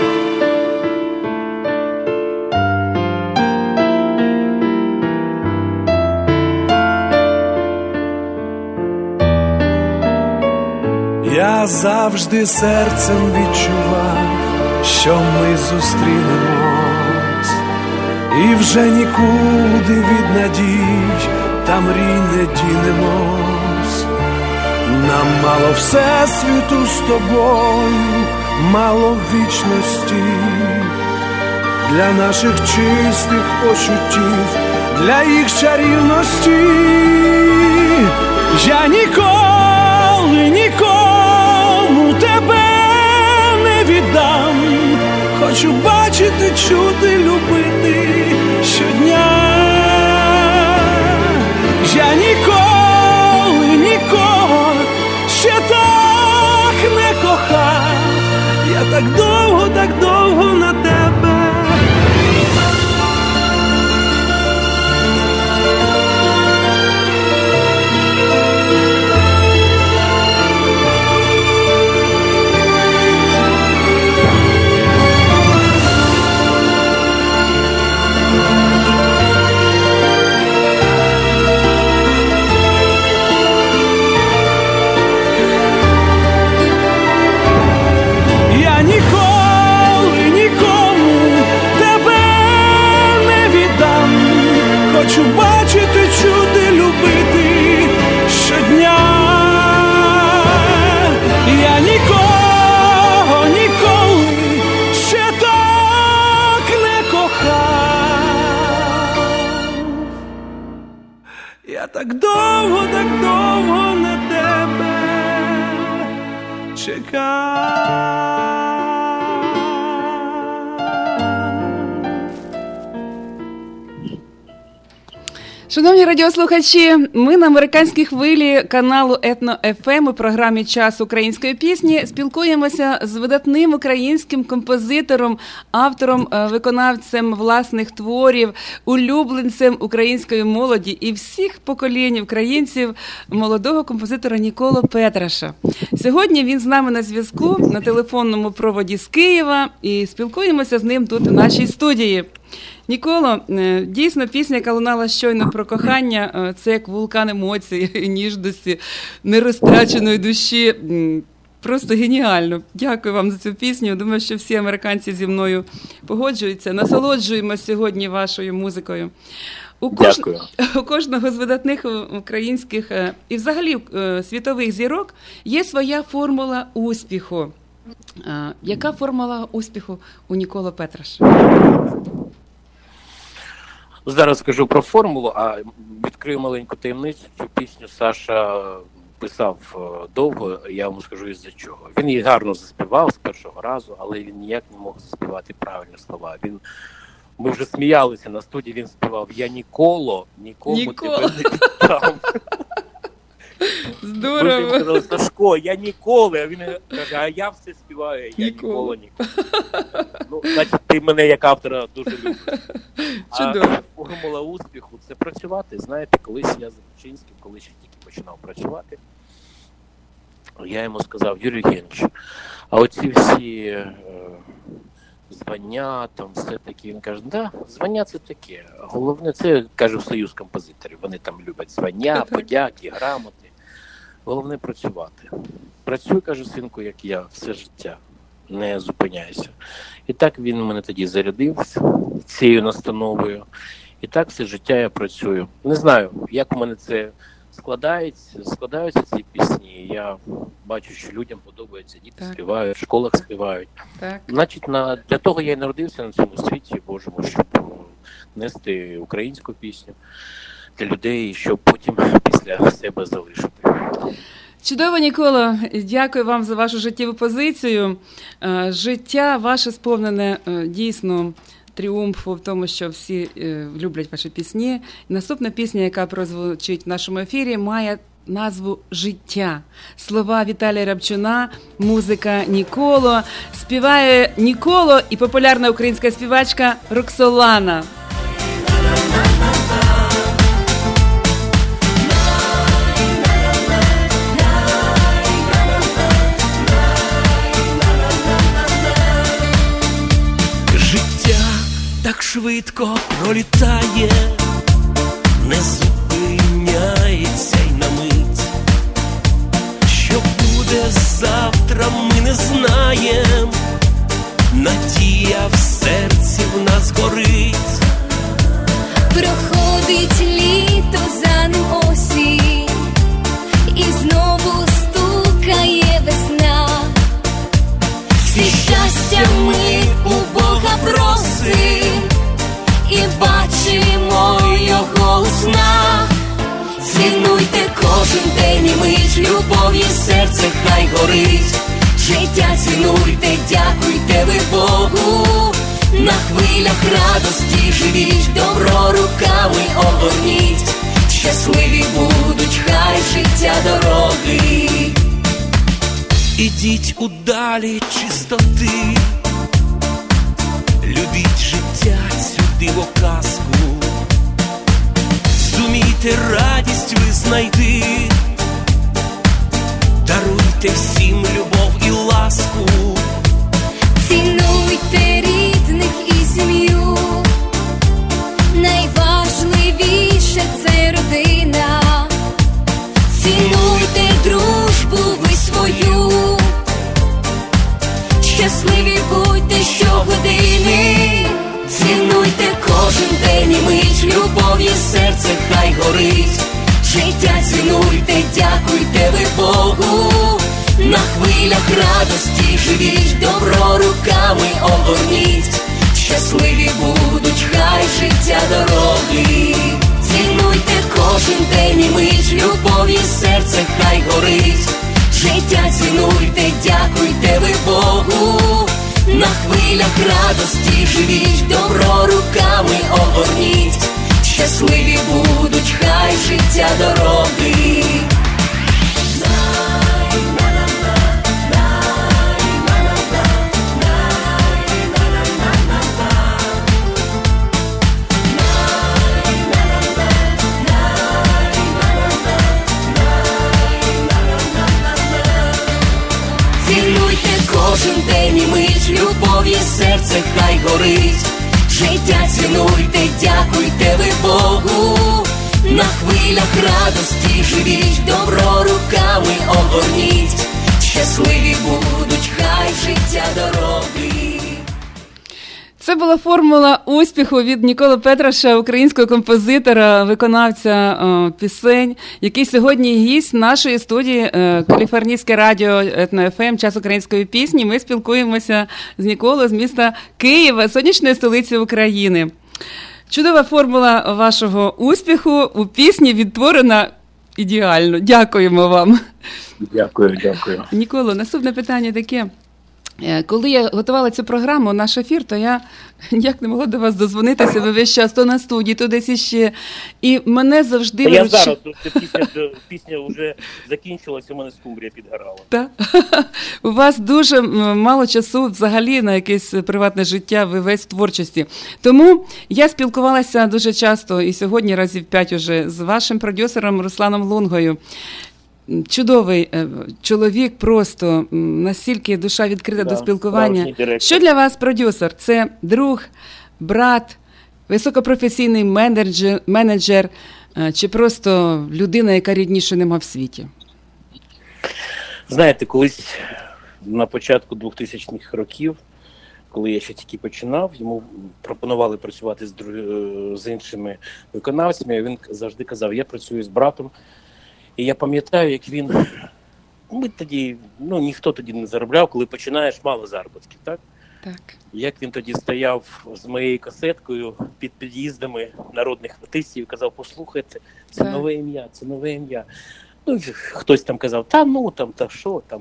Я завжди серцем відчував, що ми зустрінемось, і вже нікуди від надій та мрій не дінемось. Нам мало всесвіту з тобою, мало вічності, для наших чистих почуттів, для їх чарівності. Я ніколи нікому тебе не віддам. Хочу бачити, чути, любити щодня. Я ніколи нікого ще так не кохав. Я так довго на тебе. Хочу бачити, чути, любити щодня. Я нікого ніколи ще так не кохав. Я так довго на тебе чекав. Шановні радіослухачі, ми на американській хвилі каналу Етно-ФМ у програмі «Час української пісні» спілкуємося з видатним українським композитором, автором, виконавцем власних творів, улюбленцем української молоді і всіх поколінь українців, молодого композитора Ніколо Петраша. Сьогодні він з нами на зв'язку на телефонному проводі з Києва і спілкуємося з ним тут у нашій студії. Ніколо, дійсно, пісня, яка лунала щойно про кохання, це як вулкан емоцій, ніжності, нерозтраченої душі. Просто геніально. Дякую вам за цю пісню. Думаю, що всі американці зі мною погоджуються. Насолоджуємося сьогодні вашою музикою. Дякую. У кожного з видатних українських і взагалі світових зірок є своя формула успіху. Яка формула успіху у Ніколо Петраш? Зараз скажу про формулу, а відкрию маленьку таємницю. Цю пісню Саша писав довго, я вам скажу із-за чого. Він її гарно заспівав з першого разу, але він ніяк не мог заспівати правильні слова. Ми вже сміялися на студії, він співав «Я ніколи нікому тебе не віддам». Здорово. Ми сказали, Сашко, я ніколи. А він каже, а я все співаю, я ніколи. Ну, значить, ти мене як автора дуже любиш. Чудово. А формула успіху – це працювати. Знаєте, колись я з Рубчинським, коли ще тільки починав працювати, я йому сказав, Юрій Євгенович, а оці всі звання, там все таке. Він каже, да, звання це таке. Головне, це, каже, в Союз композиторів. Вони там люблять звання, подяки, грамоти. Головне працювати. Працюй, каже, синку, як я, все життя. Не зупиняйся. І так він мене тоді зарядив цією настановою. І так все життя я працюю. Не знаю, як у мене це складаються ці пісні. Я бачу, що людям подобається, діти співають, в школах співають. Так. Значить, для того я і народився на цьому світі, Божому, щоб нести українську пісню для людей, щоб потім після себе залишити. Чудово, Ніколо. Дякую вам за вашу життєву позицію. Життя ваше сповнене дійсно тріумфу в тому, що всі люблять ваші пісні. Наступна пісня, яка прозвучить в нашому ефірі, має назву «Життя». Слова Віталія Рябчуна, музика Ніколо. Співає Ніколо і популярна українська співачка Роксолана. Так швидко пролітає, не зупиняється й на мить. Що буде завтра, ми не знаєм. Надія в серці в нас горить. Проходить літо, за ним осінь, і знову стукає весна. Всі щастя ми у Бога просим, і бачимо його у снах. Цінуйте кожен день і мить, любов'ю серце хай горить. Життя цінуйте, дякуйте ви Богу. На хвилях радості живіть, добро руками огорніть. Щасливі будуть хай життя дороги. Ідіть у далі чистоти, любіть життя, цю дивоказку. Зумійте радість ви знайти, даруйте всім любов і ласку. Цінуйте рідних і сім'ю, найважливіше це родина. Цінуйте дружбу ви свою, щасливі будьте щогодини. Цінуйте кожен день і мить, любов'ю серце хай горить. Життя цінуйте, дякуйте ви Богу. На хвилях радості живіть, добро руками огорніть. Щасливі будуть хай життя дороги. Цінуйте кожен день і мить, любов'ю серце хай горить. Життя цінуйте, дякуйте ви Богу. На хвилях радості живіть, добро руками огорніть. Щасливі будуть хай життя дороги. Цінуйте кожен день і мить, любов'ю серце хай горить. Життя цінуйте, дякуйте ви Богу. На хвилях радості живіть, добро руками огорніть. Щасливі будуть, хай життя дороги. Це була формула успіху від Ніколи Петраша, українського композитора, виконавця пісень, який сьогодні гість нашої студії Каліфорнійське радіо Етно ФМ, час української пісні. Ми спілкуємося з Ніколою з міста Києва, сонячної столиці України. Чудова формула вашого успіху у пісні відтворена ідеально. Дякуємо вам. Дякую. Ніколо, наступне питання таке. Коли я готувала цю програму, наш ефір, то я ніяк не могла до вас дозвонитися, ви весь час то на студії, то десь іще. І мене завжди... Я зараз, пісня вже закінчилася, у мене скумбрія підгорала. Так? У вас дуже мало часу взагалі на якесь приватне життя, ви весь в творчості. Тому я спілкувалася дуже часто, і сьогодні разів 5 уже, з вашим продюсером Русланом Лунгою. Чудовий чоловік, просто настільки душа відкрита до спілкування. Що для вас продюсер? Це друг, брат, високопрофесійний менеджер чи просто людина, яка рідніше нема в світі? Знаєте, колись на початку 2000-х років, коли я ще тільки починав, йому пропонували працювати з іншими виконавцями, він завжди казав, я працюю з братом. І я пам'ятаю, як він, ми тоді, ніхто тоді не заробляв, коли починаєш, мало заробітків, так? Так. Як він тоді стояв з моєю касеткою під під'їздами народних артистів і казав, послухайте, це нове ім'я, це нове ім'я. Хтось там казав, та що там.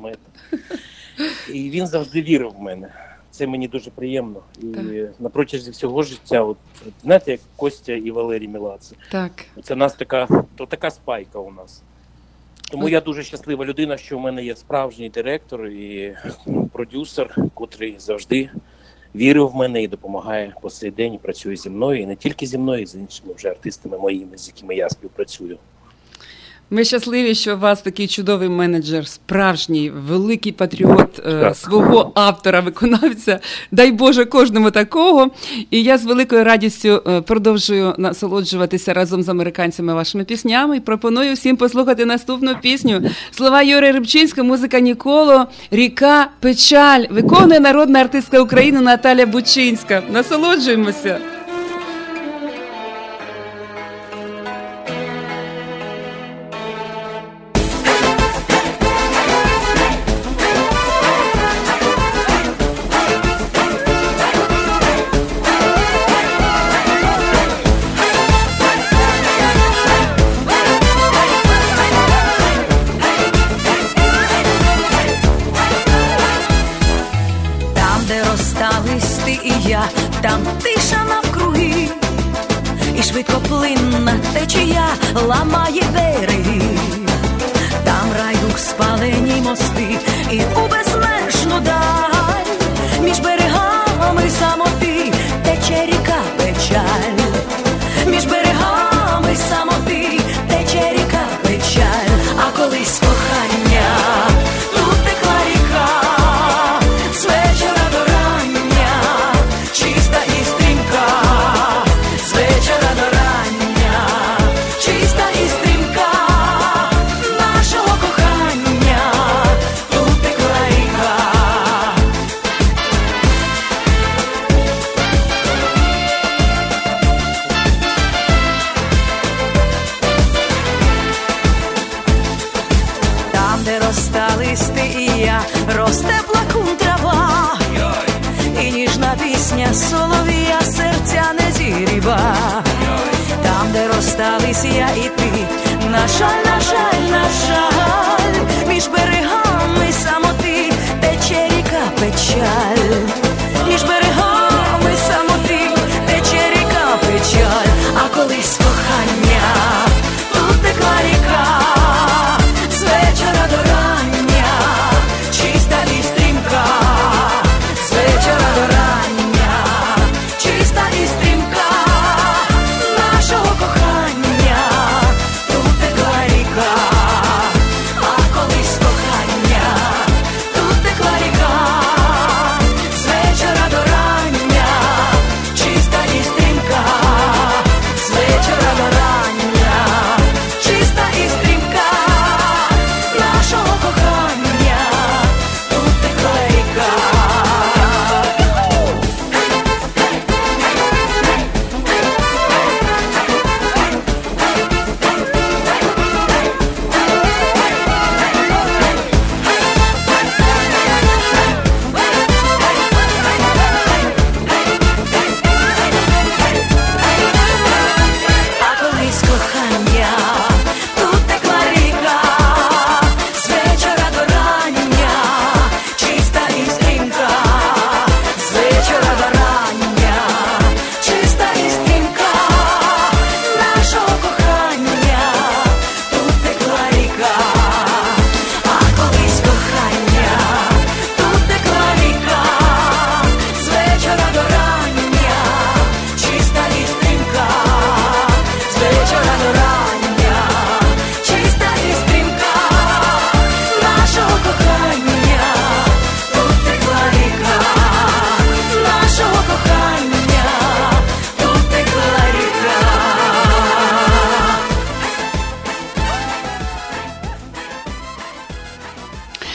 І він завжди вірив в мене. Це мені дуже приємно. І на протязі всього життя, знаєте, як Костя і Валерій Меладзе. Так. Це у нас така спайка у нас. Тому я дуже щаслива людина, що в мене є справжній директор і продюсер, котрий завжди вірив в мене і допомагає по цей день, і працює зі мною, і не тільки зі мною, і з іншими вже артистами моїми, з якими я співпрацюю. Ми щасливі, що у вас такий чудовий менеджер, справжній, великий патріот свого автора, виконавця. Дай Боже кожному такого. І я з великою радістю продовжую насолоджуватися разом з американцями вашими піснями. І пропоную всім послухати наступну пісню. Слова Юрія Рибчинського, музика Ніколо, «Ріка, печаль». Виконує народна артистка України Наталя Бучинська. Насолоджуємося. Там тиша навкруги, і швидкоплинна течія ламає береги. Там райдух спалені мости, і у безмежну даль між берегами самоти тече ріка печаль. Між берегами самоти тече ріка печаль. А колись кохання тут текла ріка з вечора до рання, чиста і стрімка, з вечора до рання, чиста і стрімка нашого кохання, тут текла ріка. Там, де росте листи і я, росте плакун трава, і ніжна пісня солов'я серця не зігріва. Там, де розстались я і ти, на жаль, на жаль, на жаль, між берегами самоти тече ріка печаль. Між берегами самоти тече ріка печаль. А колись кохання тут текла ріка з вечора до рання, чиста і стрімка, з вечора до рання, чиста і стрімка нашого кохання, тут текла ріка. А колись кохання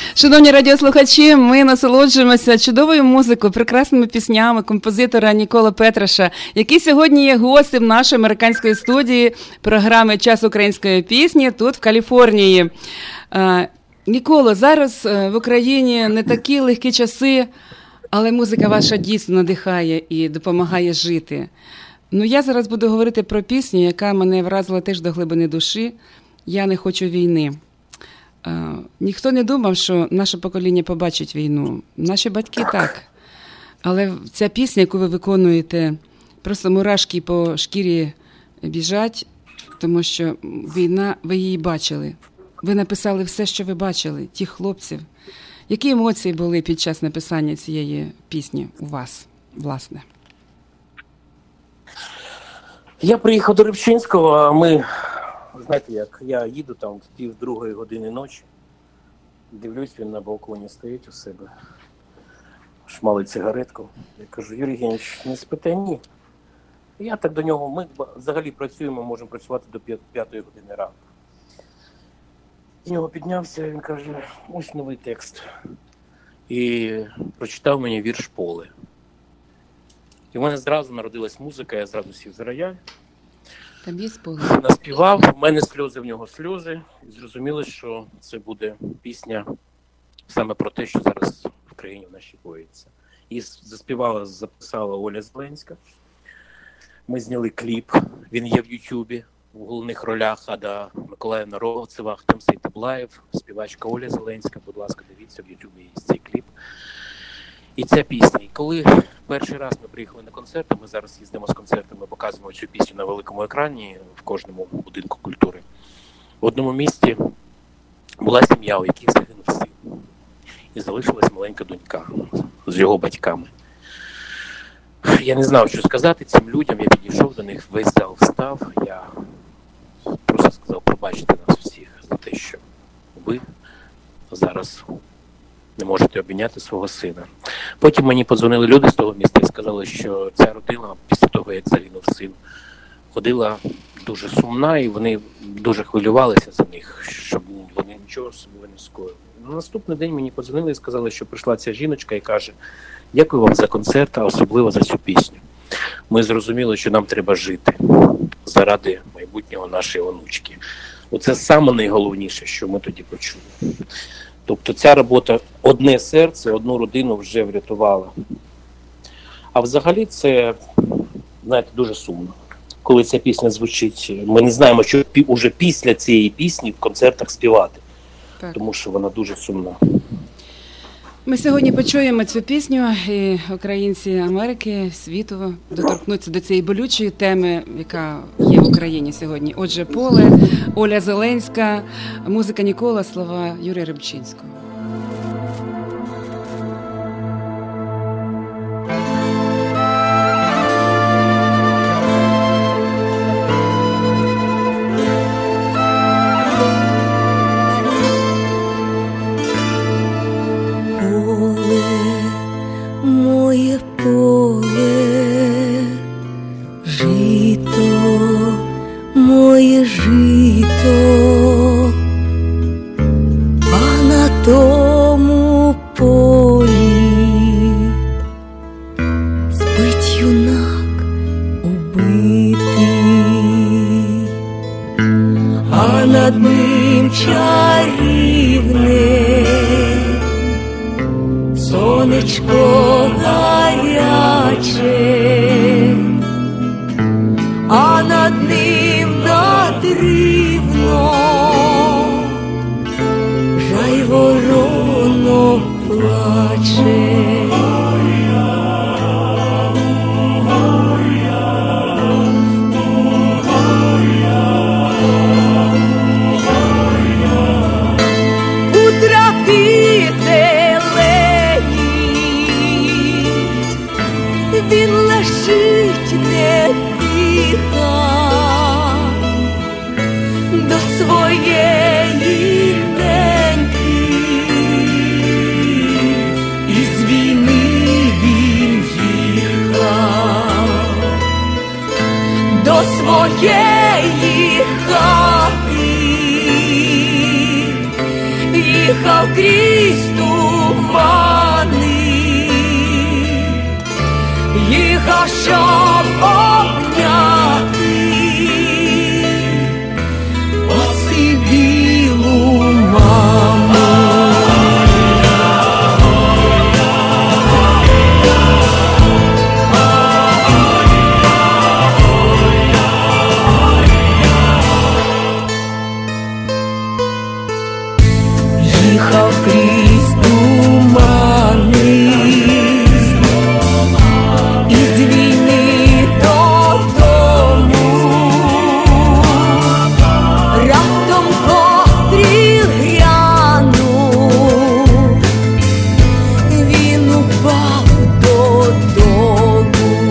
Шановні радіослухачі, ми насолоджуємося чудовою музикою, прекрасними піснями композитора Ніколи Петраша, який сьогодні є гостем нашої американської студії програми «Час української пісні» тут, в Каліфорнії. Ніколо, зараз в Україні не такі легкі часи, але музика ваша дійсно надихає і допомагає жити. Ну, я зараз буду говорити про пісню, яка мене вразила теж до глибини душі. «Я не хочу війни». Ніхто не думав, що наше покоління побачить війну. Наші батьки так. Але ця пісня, яку ви виконуєте, просто мурашки по шкірі біжать, тому що війна, ви її бачили. Ви написали все, що ви бачили, тих хлопців. Які емоції були під час написання цієї пісні у вас, власне? Я приїхав до Рибчинського, а ми, знаєте як, я їду там в 1:30 ночі, дивлюсь, він на балконі стоїть у себе, шмалить цигаретку. Я кажу: Юрій Євгенович, не спите? Ні. Я так до нього, ми взагалі працюємо, можемо працювати до 5:00 ранку. З нього піднявся, він каже: ось новий текст. І прочитав мені вірш «Поле». І в мене зразу народилась музика, я зразу сів за рояль. Там є поле. Наспівав, в мене сльози, в нього сльози. І зрозуміло, що це буде пісня саме про те, що зараз в країні в нашій коїться. І заспівала, записала Оля Зеленська. Ми зняли кліп, він є в Ютубі. В головних ролях Ада Миколаївна Ровцева, Ахтем Таблаєв, співачка Оля Зеленська. Будь ласка, дивіться, в Ютубі є цей кліп. І ця пісня. І коли перший раз ми приїхали на концерти, ми зараз їздимо з концертами, показуємо цю пісню на великому екрані в кожному будинку культури. В одному місті була сім'я, у яких загинув син. І залишилась маленька донька з його батьками. Я не знав, що сказати цим людям, я підійшов до них, весь зал встав, я просто сказав: пробачте нас всіх за те, що ви зараз не можете обійняти свого сина. Потім мені подзвонили люди з того міста і сказали, що ця родина після того, як загинув син, ходила дуже сумна, і вони дуже хвилювалися за них, щоб вони нічого з собою не скоїли. На наступний день мені подзвонили і сказали, що прийшла ця жіночка і каже: дякую вам за концерт, а особливо за цю пісню. Ми зрозуміли, що нам треба жити заради майбутнього нашої онучки. Оце саме найголовніше, що ми тоді почули. Тобто ця робота, одне серце, одну родину вже врятувала. А взагалі це, знаєте, дуже сумно. Коли ця пісня звучить, ми не знаємо, що уже після цієї пісні в концертах співати. Так. Тому що вона дуже сумна. Ми сьогодні почуємо цю пісню, і українці Америки, світу доторкнуться до цієї болючої теми, яка є в Україні сьогодні. Отже, «Поле», Оля Зеленська, музика Нікола, слова Юрія Рибчинського. Своєї неньки, і щоб обняти осивілу маму. Їхав крізь тумани, із війни додому, раптом постріл грянув, він упав додолу,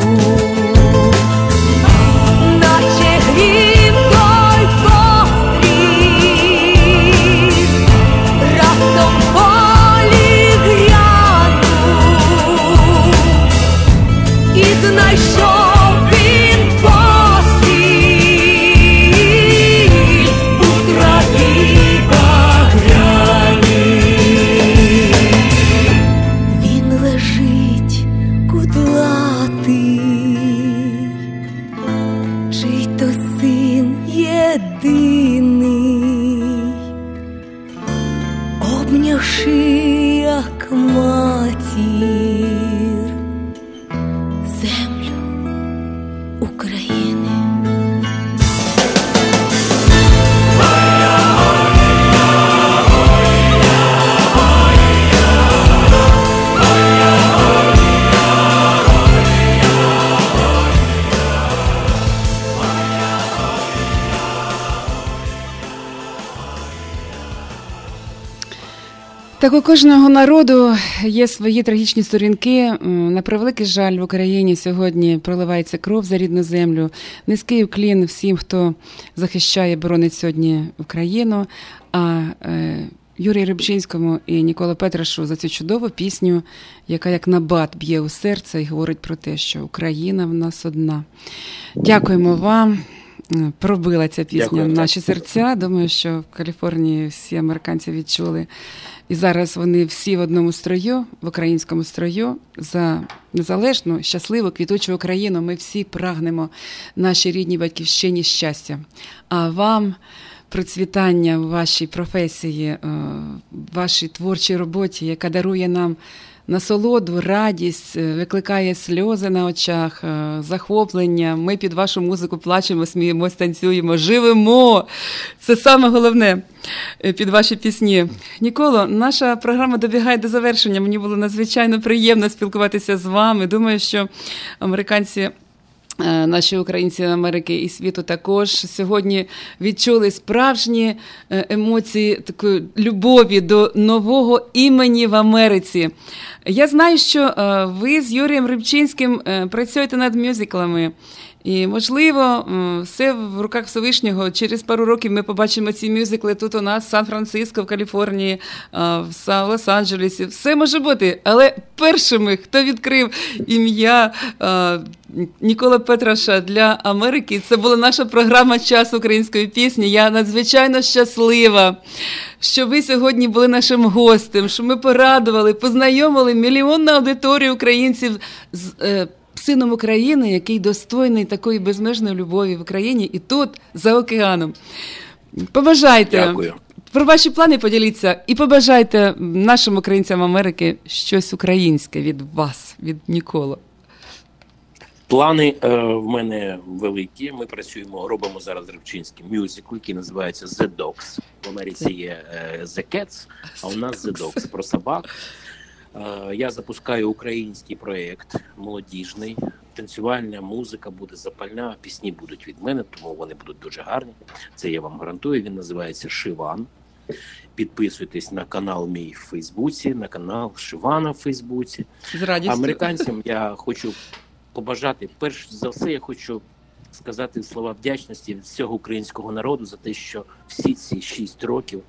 наче грім той постріл, раптом полі грянув, і знайшов він постіль у траві багряній. Він лежить кудлатий, чий то син єдиний, обнявши як матір землю України. Так у кожного народу є свої трагічні сторінки. На превеликий жаль, в Україні сьогодні проливається кров за рідну землю. Низький уклін всім, хто захищає, боронить сьогодні Україну. А Юрію Рибчинському і Ніколі Петрашу за цю чудову пісню, яка як набат б'є у серце і говорить про те, що Україна в нас одна. Дякуємо вам. Пробила ця пісня наші серця. Думаю, що в Каліфорнії всі американці відчули. І зараз вони всі в одному строю, в українському строю, за незалежну, щасливу, квітучу Україну. Ми всі прагнемо нашій рідній батьківщині щастя. А вам процвітання в вашій професії, в вашій творчій роботі, яка дарує нам насолоду, радість, викликає сльози на очах, захоплення. Ми під вашу музику плачемо, сміємось, танцюємо, живемо. Це саме головне під ваші пісні. Ніколо, наша програма добігає до завершення. Мені було надзвичайно приємно спілкуватися з вами. Думаю, що американці, наші українці Америки і світу також сьогодні відчули справжні емоції такої любові до нового імені в Америці. Я знаю, що ви з Юрієм Рибчинським працюєте над мюзиклами. І, можливо, все в руках Всевишнього. Через пару років ми побачимо ці мюзикли тут у нас, в Сан-Франциско, в Каліфорнії, в Лос-Анджелесі. Все може бути. Але першими, хто відкрив ім'я Ніколі Петраша для Америки, це була наша програма «Час української пісні». Я надзвичайно щаслива, що ви сьогодні були нашим гостем, що ми порадували, познайомили мільйонну аудиторію українців з сином України, який достойний такої безмежної любові в Україні і тут, за океаном. Побажайте. Дякую. Про ваші плани поділіться і побажайте нашим українцям Америки щось українське від вас, від Ніколи. Плани в мене великі. Ми працюємо, робимо зараз з Рибчинським мюзикл, який називається The Dogs. В Америці є The Cats, а у нас The Dogs про собак. Я запускаю український проєкт молодіжний. Танцювальна музика буде запальна, пісні будуть від мене, тому вони будуть дуже гарні. Це я вам гарантую. Він називається «Шиван». Підписуйтесь на канал мій в Фейсбуці, на канал Шивана в Фейсбуці. З радістю. Американцям я хочу побажати, перш за все, я хочу сказати слова вдячності від всього українського народу за те, що всі ці 6 років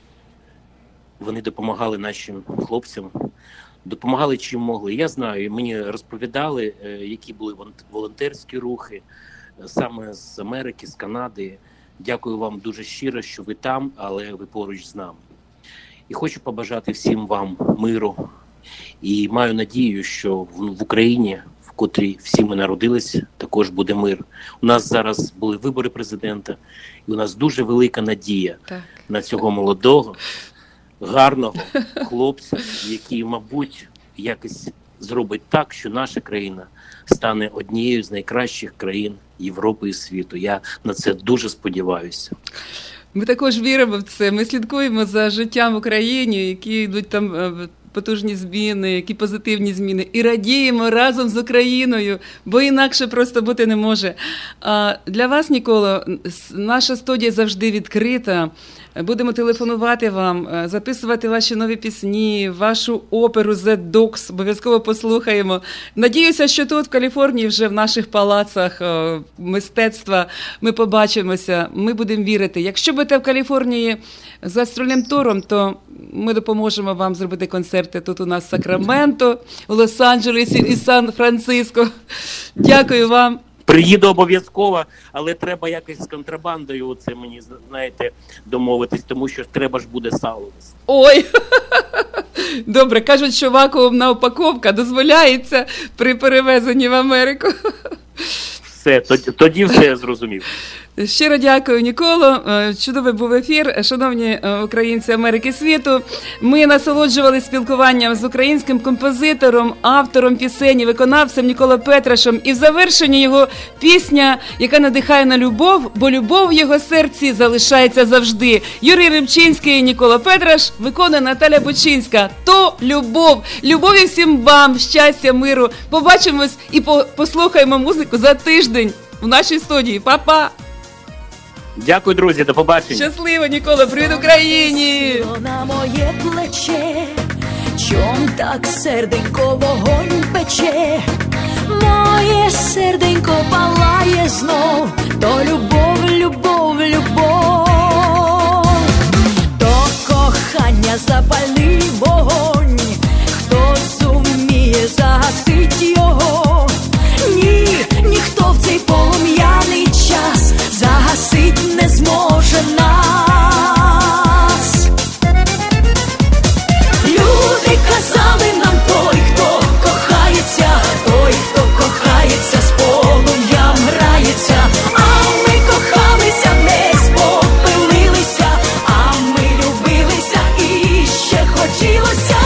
вони допомагали нашим хлопцям, допомагали чим могли. Я знаю, мені розповідали, які були волонтерські рухи саме з Америки, з Канади. Дякую вам дуже щиро, що ви там, але ви поруч з нами. І хочу побажати всім вам миру. І маю надію, що в Україні, в котрій всі ми народилися, також буде мир. У нас зараз були вибори президента, і у нас дуже велика надія на цього молодого, гарного хлопця, який, мабуть, якось зробить так, що наша країна стане однією з найкращих країн Європи і світу. Я на це дуже сподіваюся. Ми також віримо в це. Ми слідкуємо за життям в Україні, які йдуть там потужні зміни, які позитивні зміни. І радіємо разом з Україною, бо інакше просто бути не може. Для вас, Ніколо, наша студія завжди відкрита. Будемо телефонувати вам, записувати ваші нові пісні, вашу оперу «The Dogs», обов'язково послухаємо. Надіюся, що тут, в Каліфорнії, вже в наших палацах мистецтва ми побачимося, ми будемо вірити. Якщо будете в Каліфорнії з гастрольним туром, то ми допоможемо вам зробити концерти тут у нас в Сакраменто, у Лос-Анджелесі і Сан-Франциско. Дякую вам. Приїду обов'язково, але треба якось з контрабандою, це мені, знаєте, домовитись, тому що треба ж буде сало. Ой, добре, кажуть, що вакуумна упаковка дозволяється при перевезенні в Америку. Все, тоді все я зрозумів. Щиро дякую, Ніколо. Чудовий був ефір. Шановні українці Америки і світу, ми насолоджувалися спілкуванням з українським композитором, автором пісень, виконавцем Ніколо Петрашем. І в завершенні його пісня, яка надихає на любов, бо любов в його серці залишається завжди. Юрій Рибчинський, Ніколо Петраш, виконує Наталя Бучинська. То любов. Любові всім вам, щастя, миру. Побачимось і послухаємо музику за тиждень в нашій студії. Па-па! Дякую, друзі, до побачення. Щасливо, Ніколо, привіт Україні! На моє плече, чом так серденько вогонь пече, моє серденько палає знов, то любов, любов, любов, то кохання запальний вогонь, хто зуміє загасить його, ніхто в цей полум'яний час загасить не зможе нас. Люди казали нам, той, хто кохається, з полум'ям грається, а ми кохалися, не спопилилися, а ми любилися і ще хотілося.